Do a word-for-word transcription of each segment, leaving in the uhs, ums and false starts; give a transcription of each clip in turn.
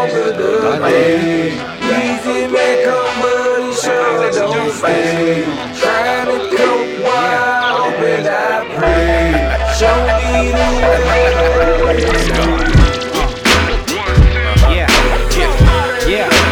longer the pain. Easy may come, but it sure don't stay. Try to cope while hoping I pray. Show me the way. Yeah, yeah, yeah.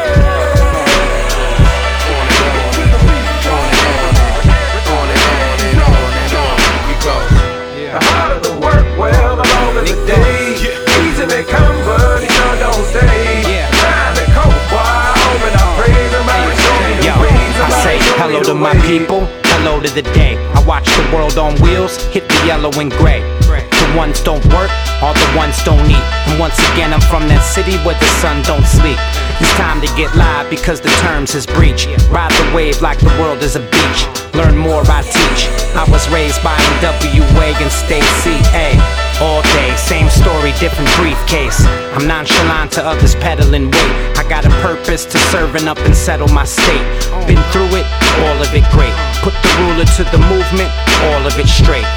The harder the work, well, the longer the day. Easy may come, but it sure don't stay. Trying to cope while hoping I pray. Somebody show me the way. I say hello to my people, hello to the day. I watch the world on wheels, hit the yellow and gray. The ones don't work, all the ones don't eat. And once again I'm from that city where the sun don't sleep. It's time to get live because the terms is breach. Ride the wave like the world is a beach. Learn more, I teach. I was raised by N W A and stay C A. All day, same story, different briefcase. I'm nonchalant to others peddling weight. I got a purpose to serving up and settle my state. Been through it, all of it great. Put the ruler to the movement, all of it straight.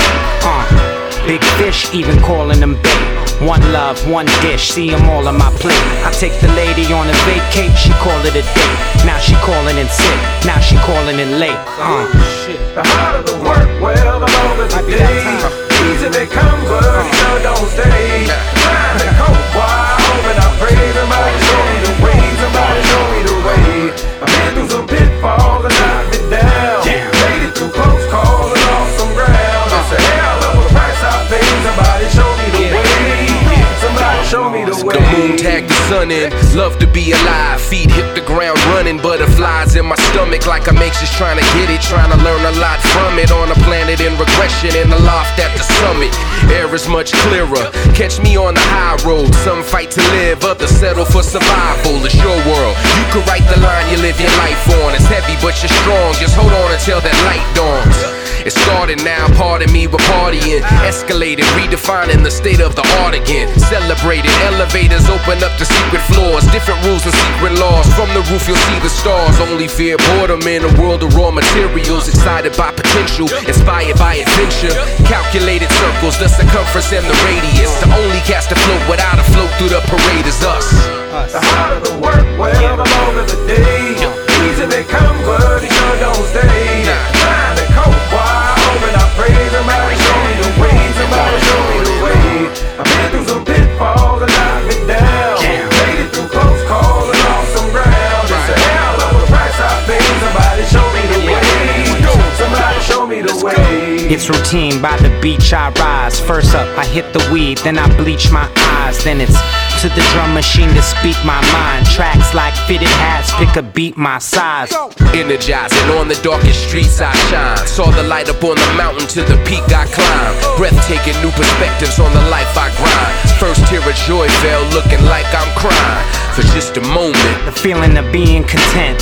Uh, big fish, even calling them bait. One love, one dish, see them all on my plate. I take the lady on a vacate, she call it a date. Now she calling in sick, now she calling in late. Uh. The harder the work, well, the longer the day. Easy may come, but it sure don't stay. Trying to cope while hoping I pray. Somebody show me the way, somebody show me the way. I've been through some pitfalls and knocked me down. Made it through close calls and lost some ground. It's a hell of a price I pay. Somebody show me the way. Somebody show me the way. The moon tagged the sun in. Love to be alive. Feet hit the ground running. Butterflies in my stomach like I'm anxious trying to get it. Trying to learn a lot from it. On a planet in regression in the loft at the summit. Air is much clearer. Catch me on the high road. Some fight to live, others settle for survival. It's your world. You could write the line you live your life on. It's heavy but you're strong. Just hold on until that light dawns. It started now, pardon me, we're partying. Escalated, redefining the state of the art again. Celebrated, elevators open up to secret floors. Different rules and secret laws. From the roof you'll see the stars. Only fear boredom in a world of raw materials. Excited by potential, inspired by adventure. Calculated circles, the circumference and the radius. The only cast afloat without a float through the parade is us. The harder the work, well, the longer the day. Easy may come, but it sure don't stay. Trying to cope while hoping I pray. Somebody show me the way, somebody show me the way. I've been through some pitfalls and knocked me down. Made it through close calls and lost some ground. It's a hell of a price I pay. Somebody show me the way. Somebody show me the way. It's routine, by the beach I rise. First up, I hit the weed, then I bleach my eyes. Then it's to the drum machine to speak my mind. Tracks like fitted hats, pick a beat my size. Energizing on the darkest streets I shine. Saw the light up on the mountain to the peak I climbed. Breathtaking new perspectives on the life I grind. First tear of joy fell looking like I'm crying. For just a moment, the feeling of being content,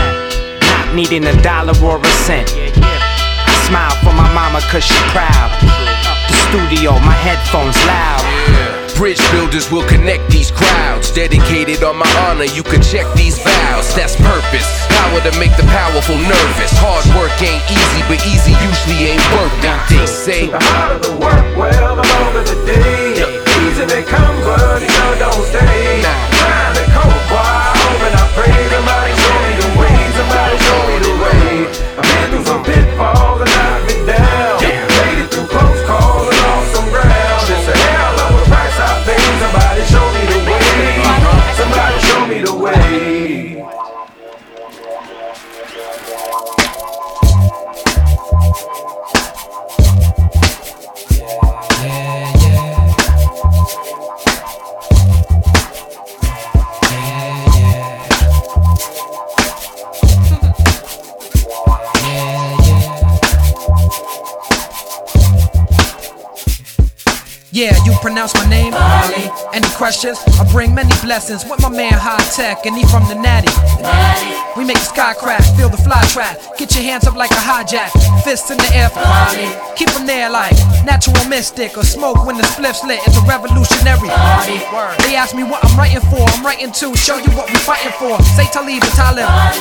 not needing a dollar or a cent. I smile for my mama cause she proud. The studio, my headphones loud. Bridge builders will connect these crowds. Dedicated on my honor, you can check these vows. That's purpose, power to make the powerful nervous. Hard work ain't easy, but easy usually ain't work it. They say the harder the work, well, the longer the day. Easy may come, but it sure don't stay. Trying to cope while hoping I pray. Somebody show me the way, somebody show me the way. I've been through some pitfalls and knocked me down. Made it through close calls and lost some ground. It's a hell of a price I pay. Somebody show me the way. Somebody show me the way. Yeah, you pronounce my name? Molly. Any questions? I bring many blessings with my man High Tech, and he from the Natty. Natty. We make the sky crash, feel the fly trap. Get your hands up like a hijack, fists in the air for Molly. Keep them there like natural mystic or smoke when the spliff's lit. It's a revolutionary. Molly. They ask me what I'm writing for. I'm writing to show you what we fighting for. Say Talib and Talib. Molly.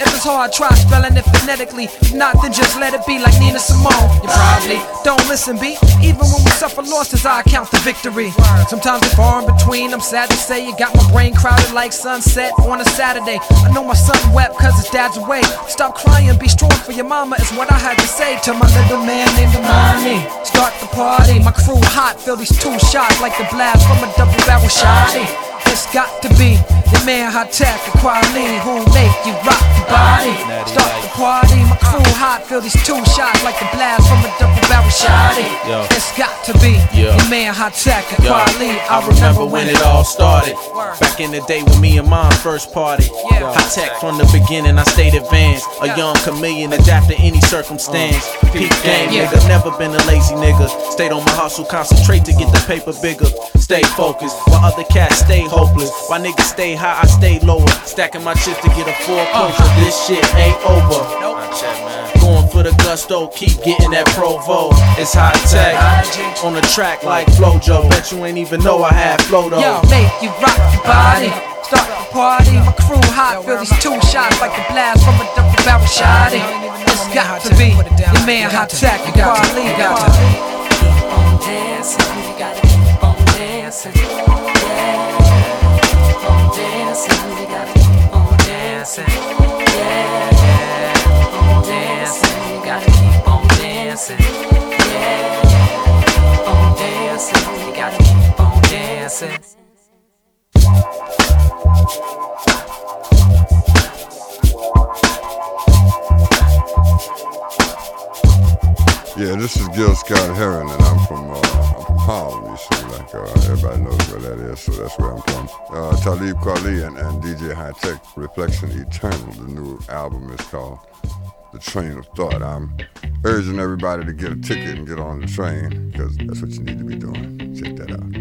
If it's hard, try spelling it phonetically. If not, then just let it be like Nina Simone. You probably don't listen, B. Even when we suffer losses, I count the victory. Sometimes it's far in between. I'm sad to say you got my brain crowded like sunset on a Saturday. I know my son wept cause his dad's away. Stop crying, be strong for your mama is what I had to say to my little man named Imani. Start the party, my crew hot, feel these two shots like the blast from a double barrel shotty. It's got to be your man High Tech and Quality who make you rock your body. Start the party, my crew hot, feel these two shots like the blast from a double barrel shotty. It's got to be your man High Tech and Quality. I remember when it all started. Back in the day when me and mom first party. High Tech from the beginning, I stayed advanced. A young chameleon, adapt to any circumstance. Peak game, nigga, never been a lazy nigga. Stayed on my hustle, concentrate to get the paper bigger. Stay focused, while other cats stay hopeless. Why niggas stay high, I stay lower. Stacking my chips to get a foreclosure. This shit ain't over. Going for the gusto, keep getting that Provo. It's High Tech on the track like Flojo. Bet you ain't even know I had flow though. Yo, make you rock your body. Start the party, my crew hot, feel these two shots like the blast from a double barrel shotty. It's got to be your man High Tech and Quality. Keep on dancing, you gotta keep on dancing. Yeah, keep on dancing, you gotta keep on dancing. Yeah, keep on dancing, you gotta keep on dancing. Yeah, keep on dancing, you gotta keep on dancing. Yeah, this is Gil Scott Heron, and I'm from uh, I'm from Harlem. You see, like uh, everybody knows where that is, so that's where I'm from. Uh, Talib Kweli and, and D J High Tech, Reflection Eternal. The new album is called The Train of Thought. I'm urging everybody to get a ticket and get on the train, because that's what you need to be doing. Check that out.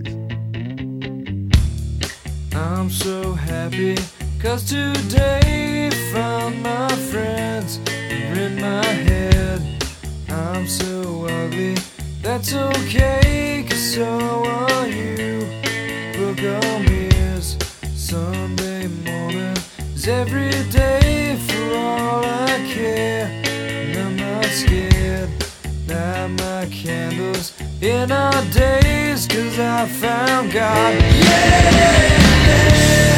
Peace. I'm so happy, cause today found my friends are in my head. I'm so ugly, that's okay, cause so are you. Book on ears, Sunday morning is every day for all I care. And I'm not scared, light my candles in our days, cause I found God. Yeah, yeah,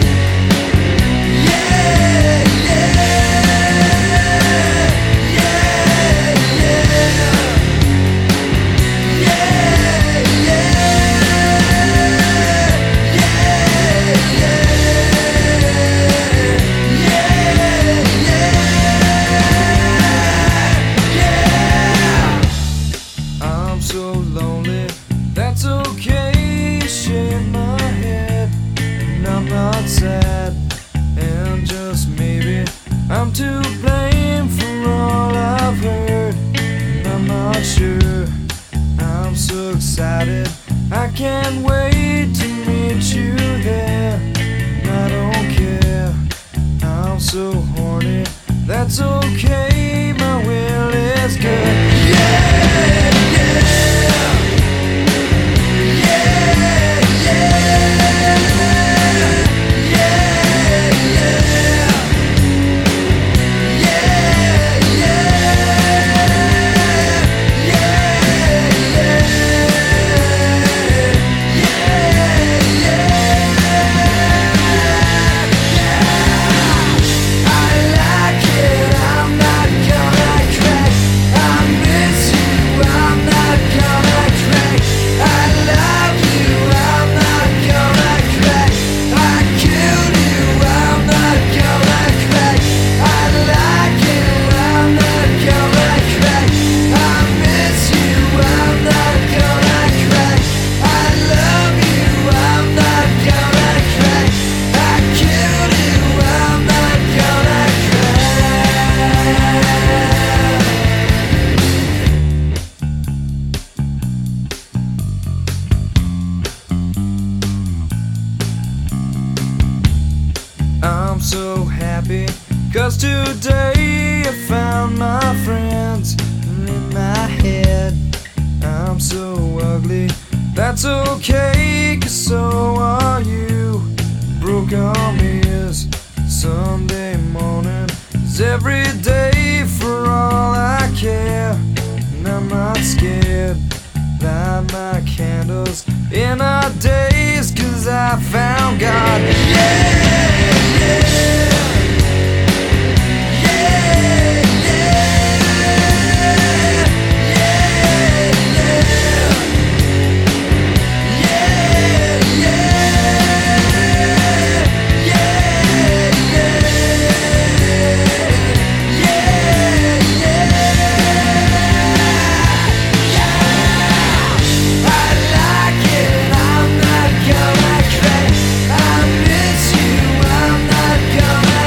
yeah, yeah. Sad, and just maybe I'm to blame for all I've heard, and I'm not sure. I'm so excited, I can't wait to meet you there. And I don't care, I'm so horny, that's okay, my will is good. Yeah, yeah, yeah, yeah. I'm so happy, cause today I found my friends in my head. I'm so ugly, that's okay, cause so are you. Broke arm ears, Sunday morning is every day for all I care. And I'm not scared. Light my candles in our days, 'cause I found God. Yeah, yeah. Gonna cry, I miss you, I'm not gonna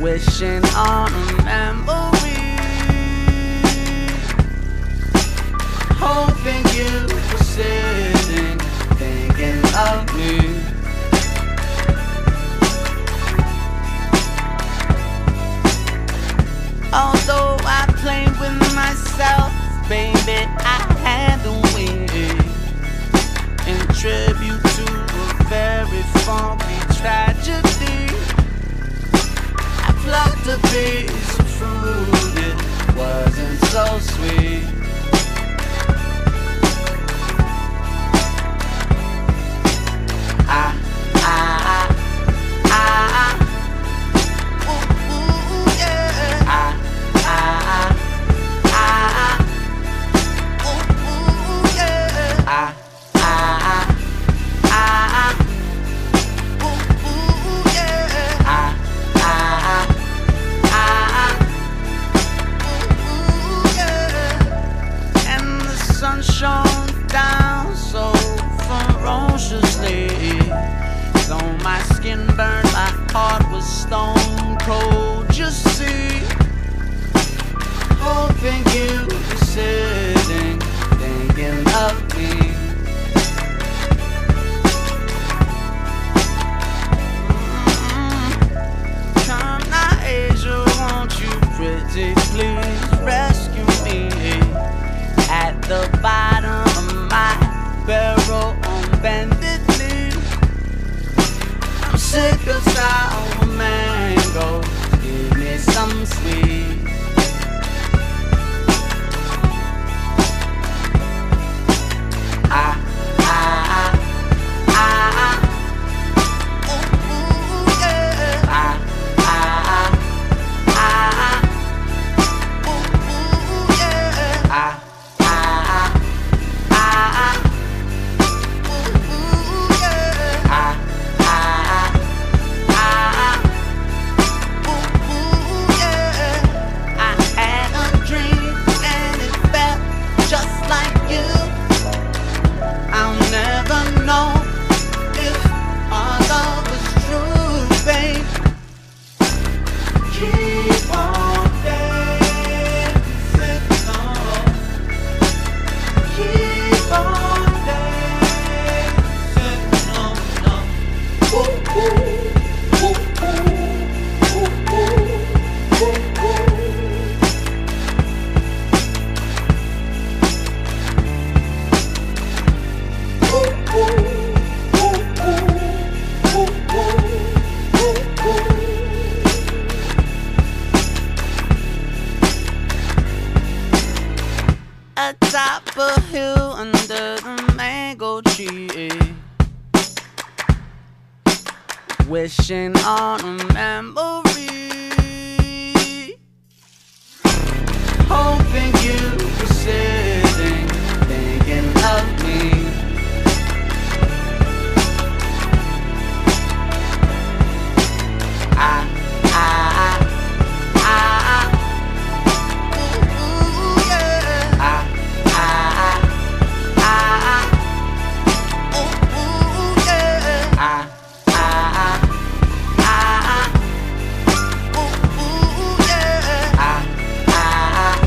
wishing on a memory, hoping you were sitting, thinking of me. Although I played with myself, baby, I had to win. In tribute to a very funky tragedy, I plucked a piece of fruit, it wasn't so sweet. I, I, I, I, ooh, ooh, yeah. I, I, I, ooh, ooh, yeah. I, I, I, ooh, ooh, yeah. I, I, I, ooh, ooh, yeah. And the sun shone down so ferociously, though my skin burned, my heart was stone cold. You see, hoping you were sitting, thinking of me. Mm-hmm. Come now, Asia, won't you pretty please rescue me at the bottom of my barrel on bended knee. I'm sick of sour mango, give me some sweet. I, I, I, ooh, ooh, yeah. I, I, I, ooh, ooh, yeah. I, I, I, ooh, ooh, yeah. I, I, I, ooh, ooh, yeah. I had a dream and it felt just like you. I'll never know if our love was true, babe. Keep on dancing on. Keep on dancing on. Ooh, ooh, ooh, ooh, ooh, ooh, ooh, ooh. Atop a hill under the mango tree, wishing on a memory, hoping you were sitting, thinking of me. I, I, I, ooh, ooh, yeah. I, I, I, ooh, ooh, yeah. I, I, I, ooh, ooh, yeah. I, I,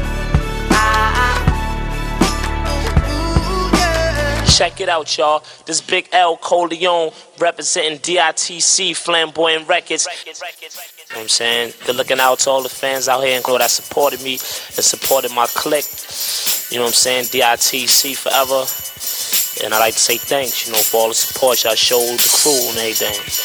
I, ooh, ooh, yeah. Check it out, y'all. This Big L Coleon representing D I T C Flamboyant Records. You know what I'm saying? Good looking out to all the fans out here and that supported me and supported my clique. You know what I'm saying? D I T C forever. And I like to say thanks, you know, for all the support y'all showed the crew and everything.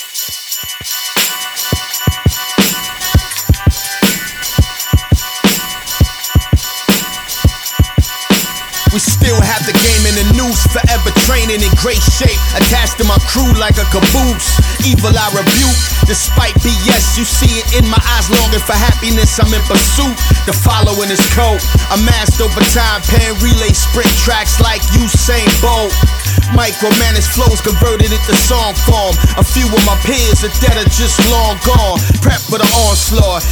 We still have the game in the noose, forever training in great shape, attached to my crew like a caboose. Evil I rebuke, despite B S, you see it in my eyes, longing for happiness, I'm in pursuit. The following is cold, amassed over time, pen relay sprint tracks like Usain Bolt. Micromanaged flows converted into song form. A few of my peers are dead or just long gone. Prep for the onslaught, leave my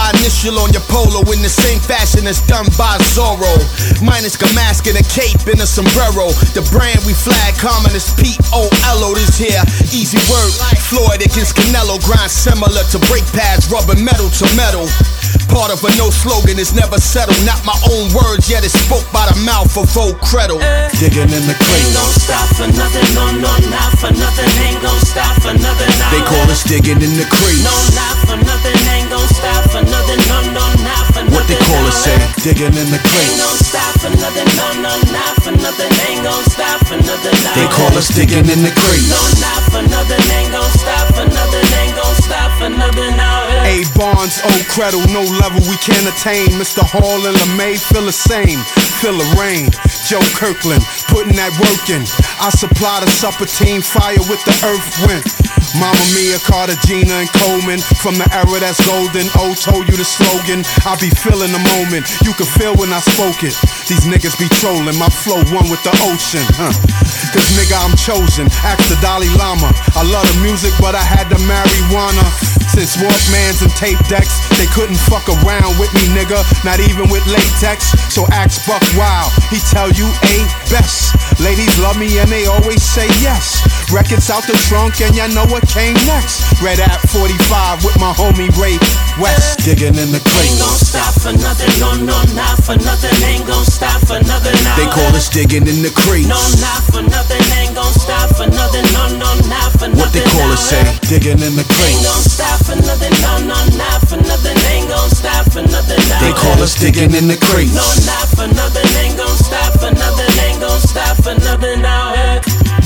my initial on your polo in the same fashion as done by Zorro. Minus a mask and a cape and a sombrero. The brand we flag common is P O L O. This here, easy word. Floyd against Canelo, grind similar to brake pads, rubbing metal to metal. Part of a no slogan is never settled. Not my own words, yet it's spoke by the mouth of Vogue Creddle. Digging in the crate. Ain't gon' stop for nothing, no, no, not for nothing. Ain't gon' stop for nothing. They call us digging in the crates. No, not for nothing. Ain't gon' stop for nothing. No, no, not for nothing. What they call us say, digging in the crates. Ain't gon' stop for nothing. No, no, not for nothing. Ain't gon' stop for nothing. They call us digging in the crates. No, not for nothing. Ain't gon' stop for nothing. Ain't gon' stop for nothing. A Barnes, O Creddle, no level we can't attain. Mister Hall and LeMay feel the same. Feel the rain. Joe Kirkland putting that work in. I supply the supper team fire with the earth wind. Mama Mia, Carter, Gina, and Coleman. From the era that's golden, O told you the slogan. I be feeling the moment, you can feel when I spoke it. These niggas be trolling, my flow one with the ocean, huh? Cause nigga I'm chosen, ask the Dalai Lama. I love the music but I had the marijuana. Since Walkmans and tape decks, they couldn't fuck around with me, nigga. Not even with latex, so ask Buck Wild, he tell you A best. Ladies love me and they always say yes. Records out the trunk and y'all know what came next. Red App forty-five with my homie Ray West. Digging in the crate. Ain't gon' stop for nothing, no, no, not for nothing. Ain't gon' stop for nothing. They call us digging in the crates. No, not for nothing. Ain't gon' stop for nothing. No, no, not for nothing. What they call us say, digging in the crates. Ain't gon' stop for nothing. No, no, not for nothing. Ain't gon' stop for nothing. They call us digging in the crates. No, not for nothing. Ain't gon' stop for nothing. Ain't gon' stop for nothing. Now, hey.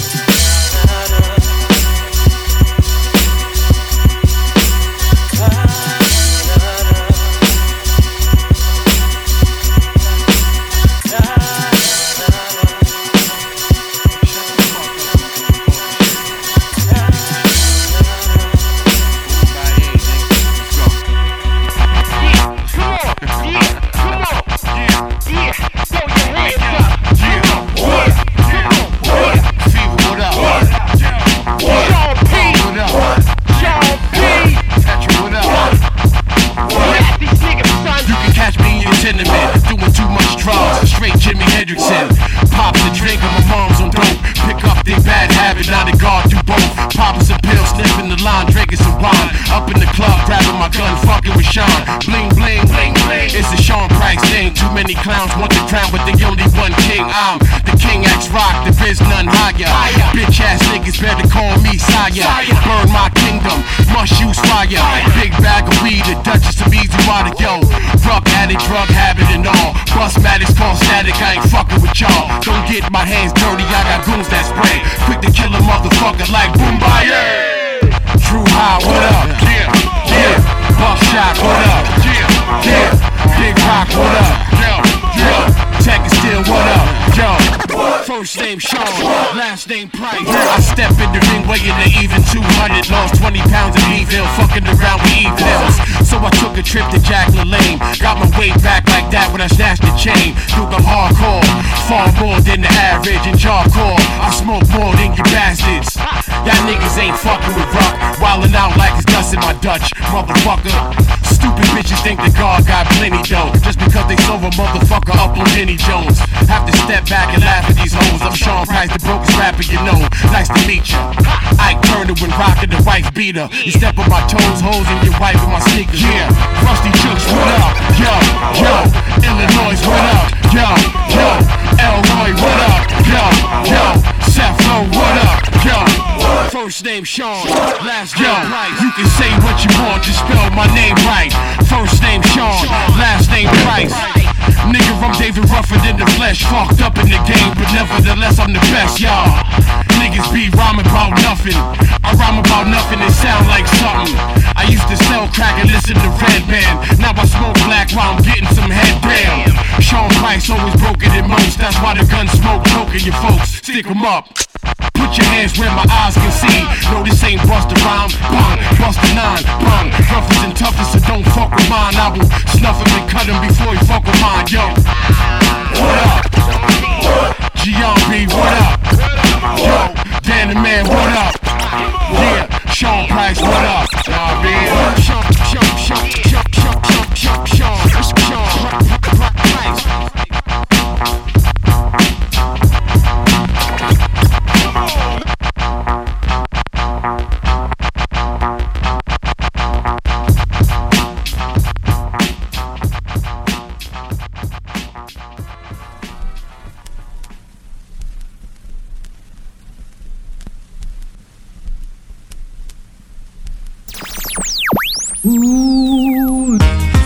Clowns want the crown, but they only one king. I'm the king X Rock, there is none higher. Bitch ass niggas better call me sire. Burn my kingdom, must use fire. Big bag of weed, the Duchess of Easy Water, yo. Drug addict, drug habit and all. Bust matters, call static, I ain't fucking with y'all. Don't get my hands dirty, I got goons that spray. Quick to kill a motherfucker like Boombayah. Drew High, what up? Yeah, yeah. Buckshot, what up? Yeah, yeah. Big Rock, what up? Yo, Tech is still what up, yo. First name Sean, last name Price. I step in the ring weighing an even two hundred. Lost twenty pounds of evil, fucking around with evils. So I took a trip to Jack LaLanne. Got my weight back like that when I snatched the chain. Duke, I'm hardcore, far more than the average and jawcore. I smoke more than you bastards. Y'all niggas ain't fucking with rock. Wildin' out like it's dust in my Dutch, motherfucker. Stupid bitches think that God got plenty dough just because they sold a motherfucker up on Jenny Jones. Have to step back and laugh at these hoes. I'm Sean Price, the brokest rapper you know. Nice to meet you. Ike Turner when rockin' the wife beater. You step on my toes, hoes, and your wife in my sneakers. Yeah, Rusty Chooks, what up? Yo, yo, Illinois, what up? Yo, yo, Elroy, what up? Yo, yo, Seth Lowe, what up? Yo, first name Sean, last name Price. You can say what you want, just spell my name right. First name Sean, last name Price. Nigga, I'm David Ruffin in the flesh. Fucked up in the game, but nevertheless I'm the best, y'all. Niggas be rhyming about nothing. I rhyme about nothing and sound like something. I used to sell crack and listen to Red Band. Now I smoke black while I'm getting some head down. Sean Price always broken than most. That's why the gun smoke choking your folks. Stick 'em up. Put your hands where my eyes can see. No, this ain't Busta Rhyme. Bang, Busta Nine. Bang, roughest and toughest, so don't fuck with mine. I will snuff him and cut him before he fuck with mine. Yo, what up? Gion B, what up? Yo, Dan the Man, what up? Yeah, Sean Price, what up? Nah, man. Sean, Sean, Sean, Sean, Sean, Sean, Ooh.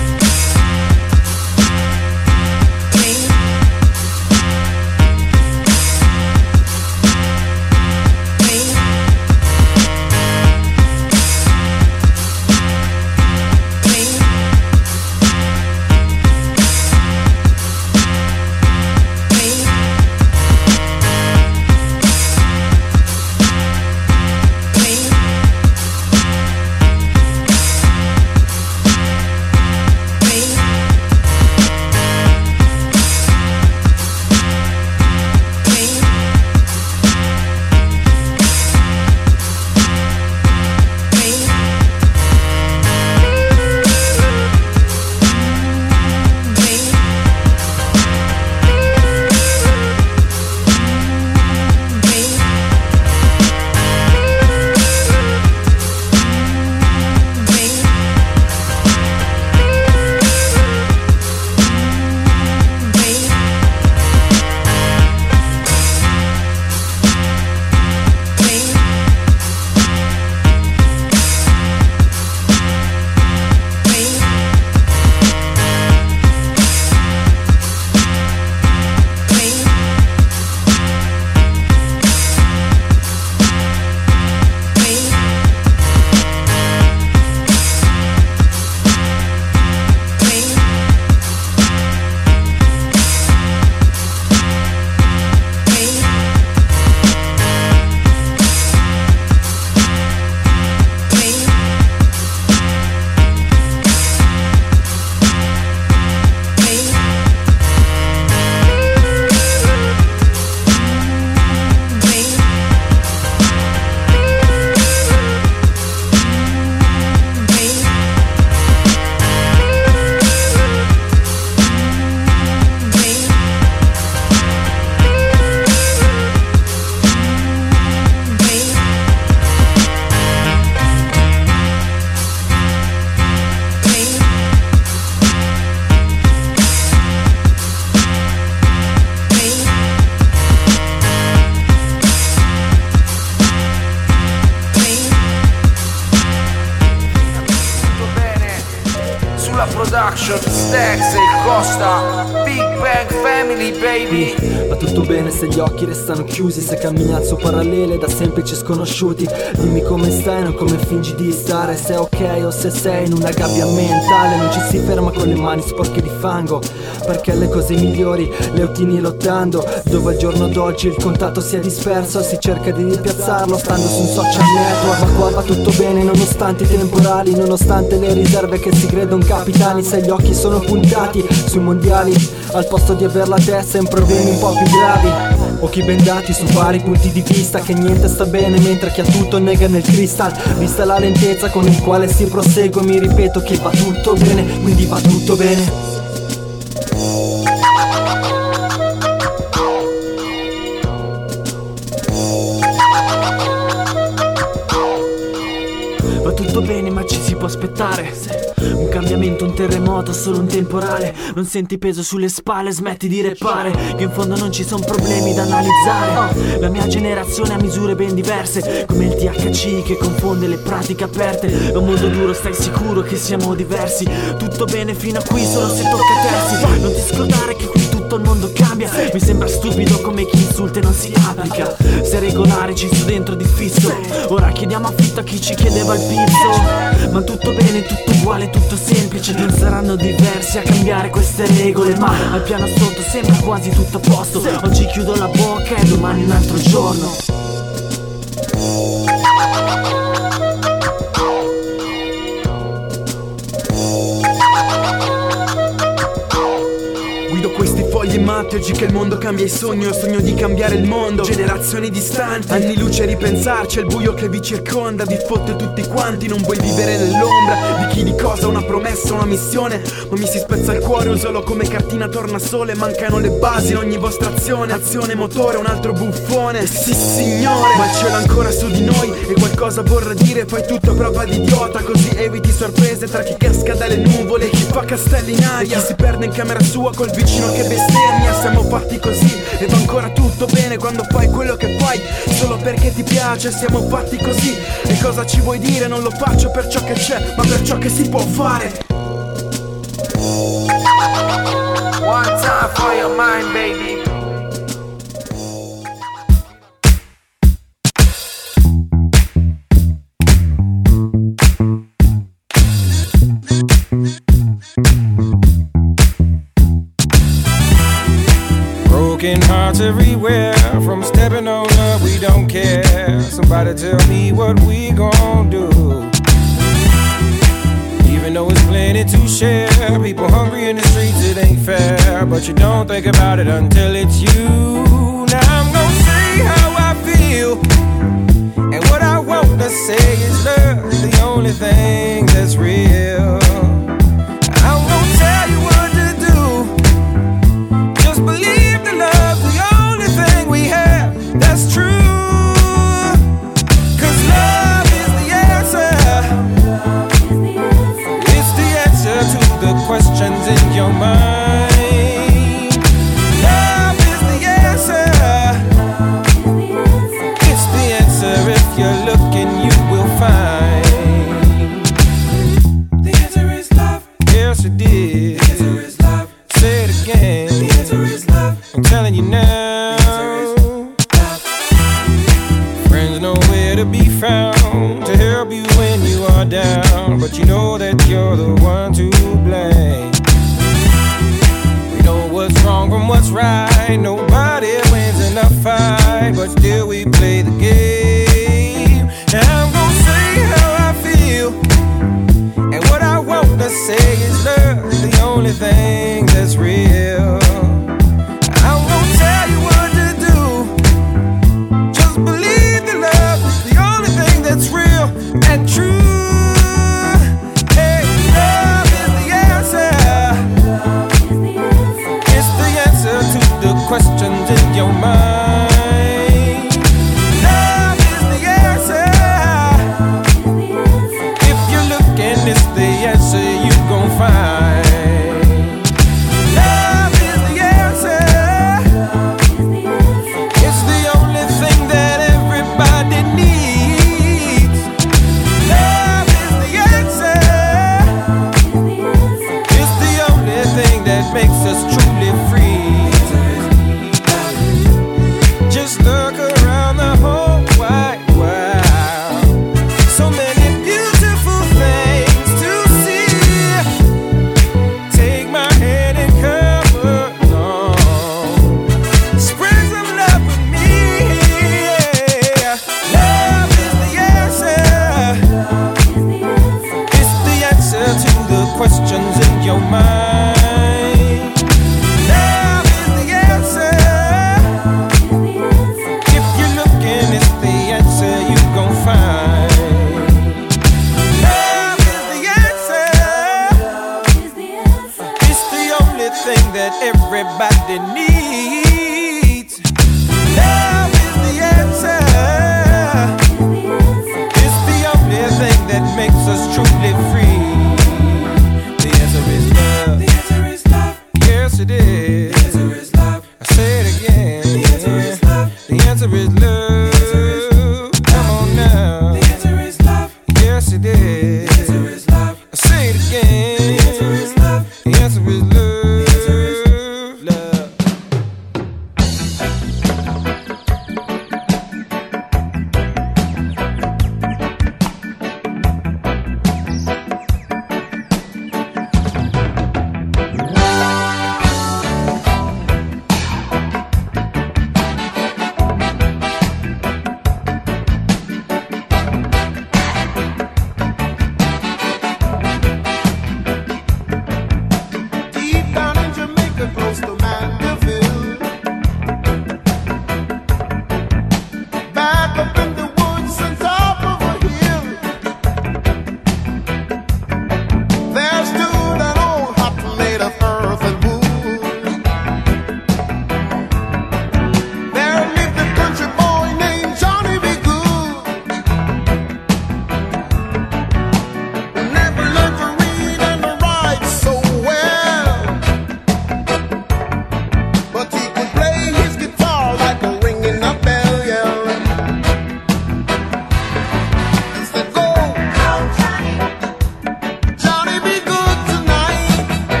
Production, Stacks e Costa, Big Bang Family baby. Va tutto bene se gli occhi restano chiusi, se cammini al suo parallele da semplici sconosciuti. Dimmi come stai, non come fingi di stare, se è ok o se sei in una gabbia mentale. Non ci si ferma con le mani sporche di fango, perché le cose migliori le ottieni lottando. Dove al giorno d'oggi il contatto si è disperso, si cerca di ripiazzarlo stando su un social network. Ma qua va tutto bene nonostante i temporali, nonostante le riserve che si credono capitali. Se gli occhi sono puntati sui mondiali, al posto di aver la testa in problemi un po' più gravi. Occhi bendati su vari punti di vista, che niente sta bene mentre chi ha tutto nega nel cristal. Vista la lentezza con il quale si prosegue, mi ripeto che va tutto bene, quindi va tutto bene. Va tutto bene ma ci si può aspettare, un cambiamento, un terremoto, solo un temporale. Non senti peso sulle spalle, smetti di reppare che in fondo non ci sono problemi da analizzare. La mia generazione ha misure ben diverse, come il T H C che confonde le pratiche aperte. È un mondo duro, stai sicuro che siamo diversi. Tutto bene fino a qui, solo se tocca terzi. Non ti scordare che qui tutto il mondo cambia. Mi sembra stupido come chi insulta e non si applica. Se regolare ci sto dentro di fisso, ora chiediamo affitto a chi ci chiedeva il pizzo. Ma tutto bene, tutto uguale, tutto semplice. Non saranno diversi a cambiare queste regole, ma al piano sotto sembra quasi tutto a posto. Oggi chiudo la bocca e domani un altro giorno. Guido questi fogli matti oggi che il mondo cambia i sogni. Ho sogno di cambiare il mondo, generazioni distanti, anni luce a ripensarci, è il buio che vi circonda, vi fotte tutti quanti. Non vuoi vivere nell'ombra di chi di cosa, una promessa, una missione, ma mi si spezza il cuore, usalo come cartina tornasole. Mancano le basi in ogni vostra azione, azione, motore, un altro buffone. Sì signore, ma il cielo ancora su di noi e qualcosa vorrà dire. Fai tutto a prova di idiota, così eviti sorprese tra chi casca dalle nuvole, chi fa castelli in aria, chi si perde in camera sua col vicino che bestemmia. mia siamo fatti così e va ancora tutto bene quando fai quello che fai solo perché ti piace, siamo fatti così. E cosa ci vuoi dire? Non lo faccio per ciò che c'è, ma per ciò che si può fare. One time for your mind, baby. Broken hearts everywhere, from stepping on up, we don't care. Somebody tell me what we gon' do. Even though it's plenty to share, people hungry in the streets, it ain't fair. But you don't think about it until it's you. Now I'm gonna say how I feel, and what I want to say is love, the only thing that's real. I'm gonna tell you what to do, just believe the love's the only thing we have that's true. Cause love is the answer, it's the answer to the questions in your mind. Love is the answer, it's the answer, if you're looking you will find. The answer is love, yes it is. The answer is love, say it again. The answer is love, I'm telling you now. The answer is love. Friends nowhere to be found to help you when you are down, but you know that you're the one to blame. We know what's wrong from what's right, nobody wins in a fight, but still we play the game. Now I'm gonna say how I feel, and what I want to say is love, the only thing that's real. I'm gonna tell you what to do, just believe the love is the only thing that's real and true. Hey, love is the answer, it's the answer to the questions in your mind. Love is the answer, if you're looking, it's the answer you gon' find. Love is the answer, it's the only thing that everybody needs. Love is the answer, it's the only thing that makes us truly free. Just look around the whole wide world, so many beautiful things to see. Take my hand and come along, spread some love with me. Yeah. Love is the answer, it's the answer to the questions in your mind. Love is the answer, if you're looking, it's the answer you gon' find. Love is the answer, it's the only thing that everybody needs. Love is the answer, it's the only thing that makes us truly free. The answer is love, the answer is love, yes it is. The answer is love, I say it again. The answer is love, the answer is love. Come on now. The answer is love, yes it is. The answer is love, I say it again. The answer is love, the answer is love. The answer is love.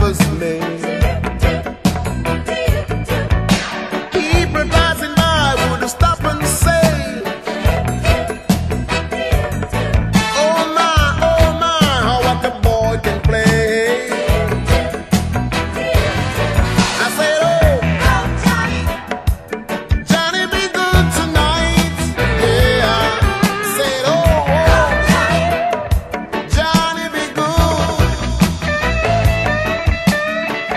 was made. People passing by would stop and say, oh my, oh my, how what a boy can play. I said, oh, Johnny be good tonight. Yeah, I said, oh, Johnny be good.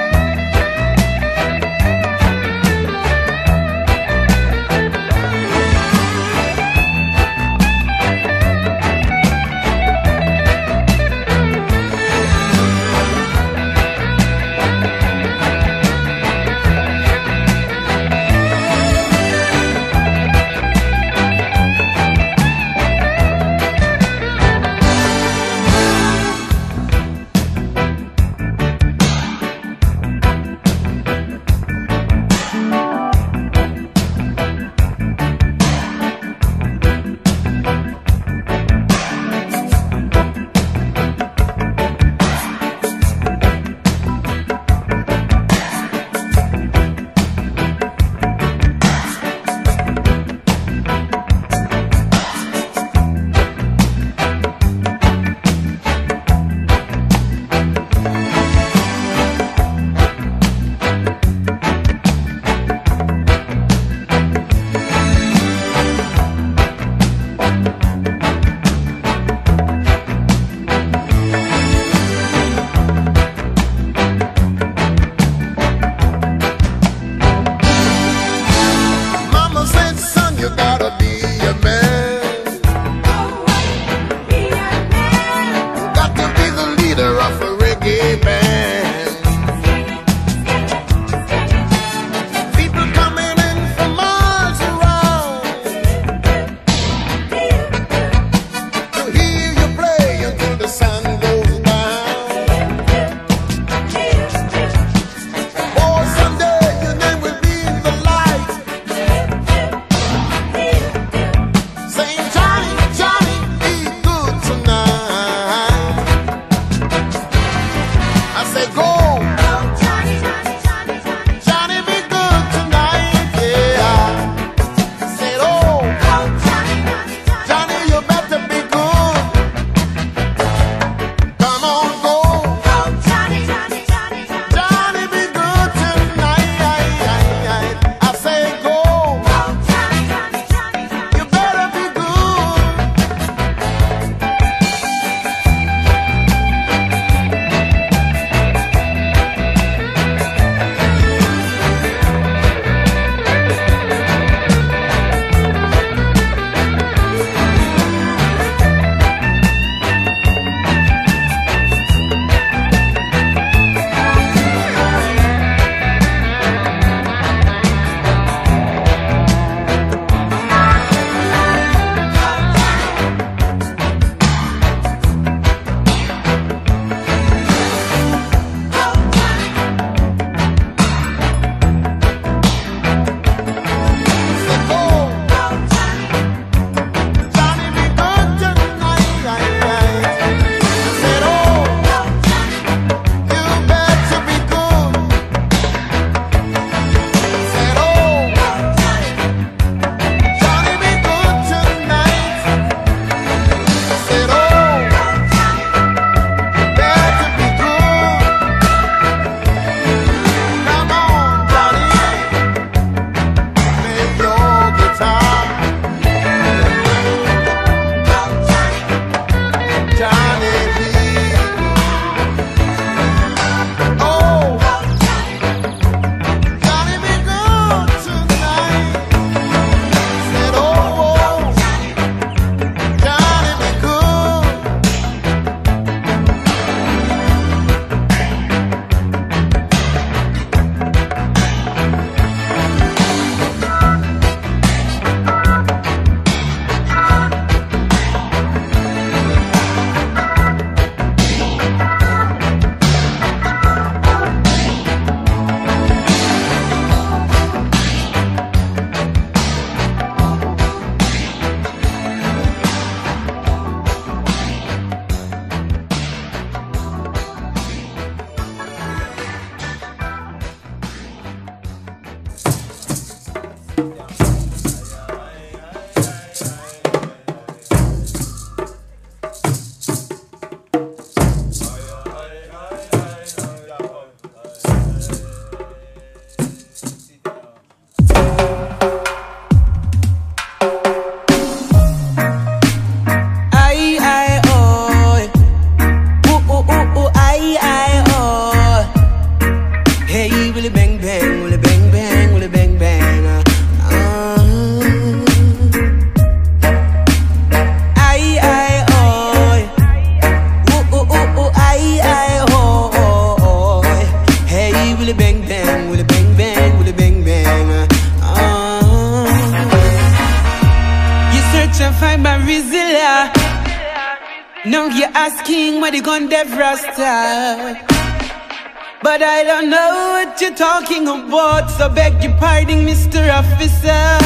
Now you're asking where the gun dev Rasta, but I don't know what you're talking about, so beg your pardon, Mister Officer.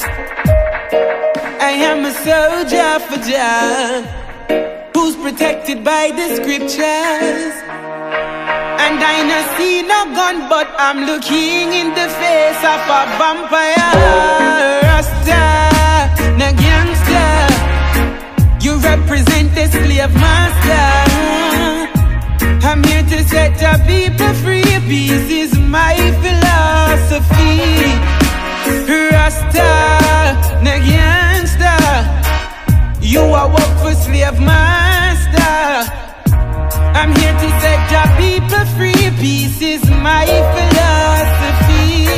I am a soldier for Jah, who's protected by the scriptures. And I no see no gun, but I'm looking in the face of a vampire. Rasta, no gangster, you represent the slave master. I'm here to set your people free. Peace is my philosophy. Rasta, no gangster, you are work for slave master. I'm here to set your people free. Peace is my philosophy.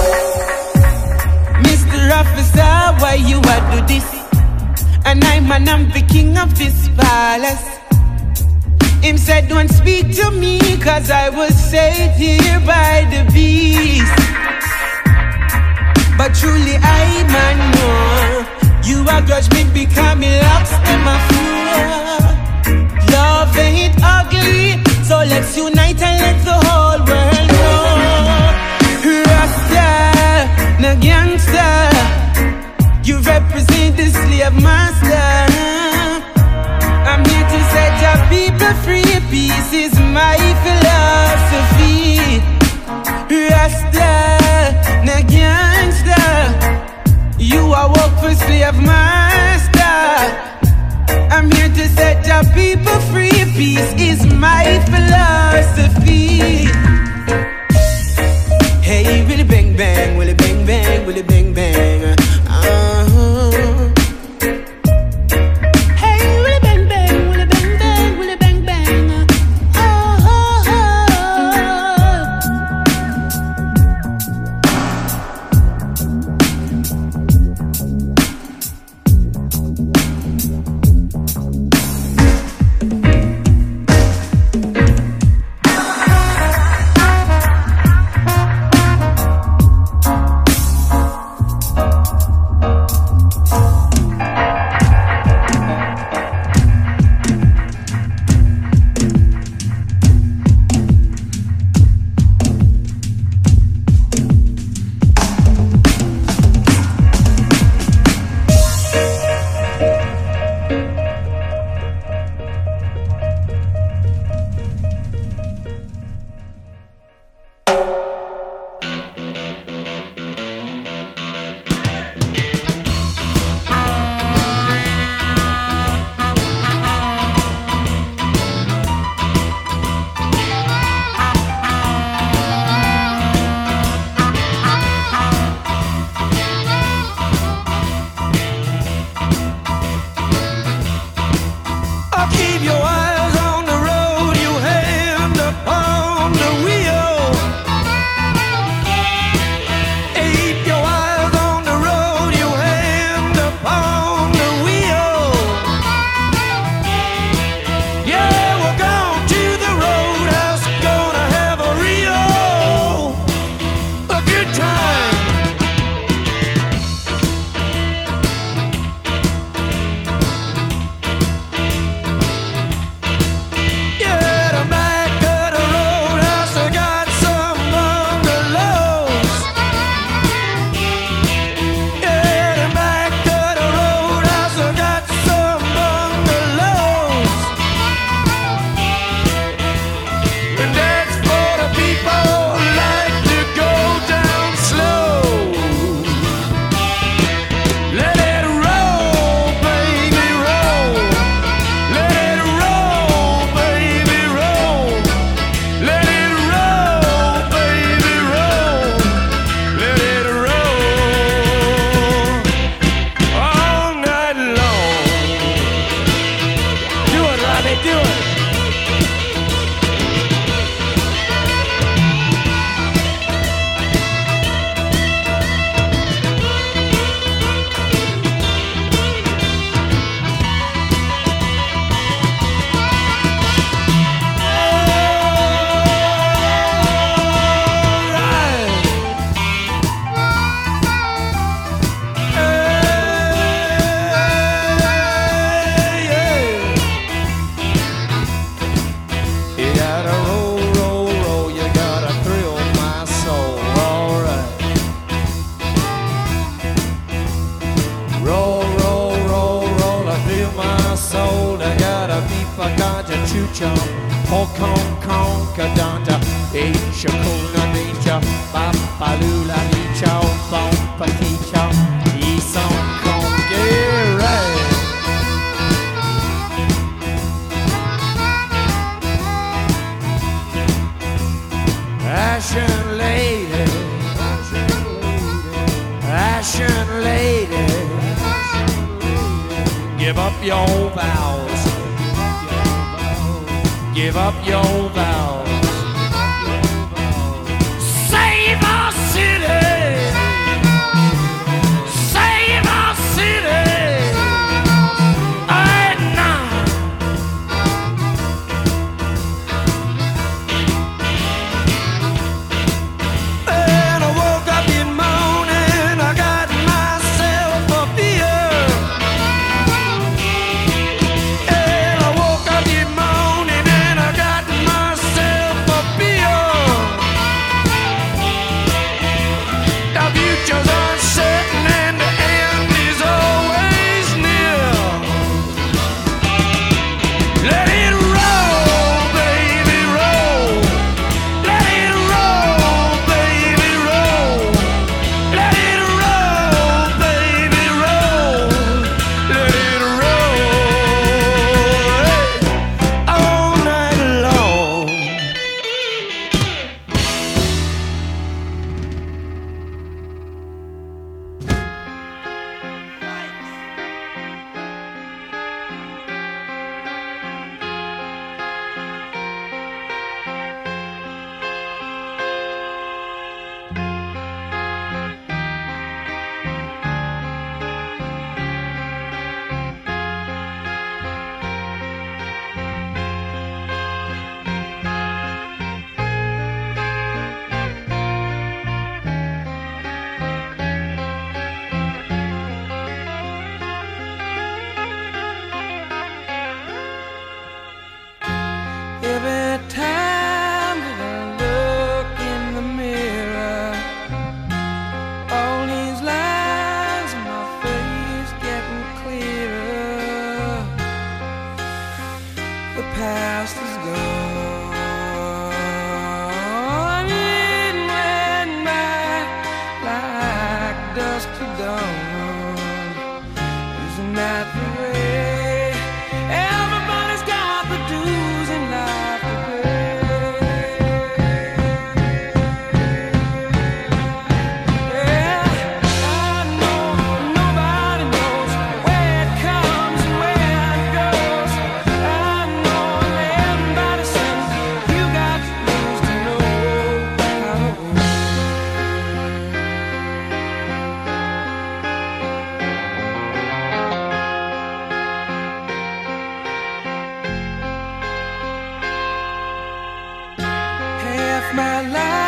Mister Officer, why you a do this? And I'm an I'm the king of this palace. Him said don't speak to me, cause I was saved here by the beast. But truly I man know you a grudge me because me locks in my floor. Love ain't ugly, so let's unite and let the whole world know. Rasta, no gangster, you represent the slave master. I'm here to set your people free. Peace is my philosophy. Rasta, no gangster, you are work for slave master. I'm here to set your people free. Peace is my philosophy. Hey, willy bang bang, willy bang bang, willy bang bang. Uh-huh. Hey, willy bang bang, willy bang bang, willy bang bang. Uh-huh. gotta roll, roll, roll, you gotta thrill my soul, alright. Roll, roll, roll, roll, I feel my soul. I gotta beep, I gotta choo chomp. Hong Kong, Kong, Kadanta, Asia, Kuna, Nature, Papalula, Nicho, Bom, Paticho, Eson, Kong, get right. Ashen lady, Ashen lady, give up your vows, give up your vows. Save our city, save our city, right now. And I woke up in morning, I got myself a beer. And I woke up in morning and I got myself a beer. The future's uncertain and the end is always near. Let it roll, baby, roll. Let it roll, baby, roll. Let it roll, baby, roll. Let it roll all night long. Every time that I look in the mirror, all these lines in my face getting clearer. The past is gone, it went by like dusk to dawn. Isn't that the way? Everybody's got the dues in life to pay. Yeah, I know nobody knows where it comes and where it goes. I know everybody says you got to lose to know how to win. Half my life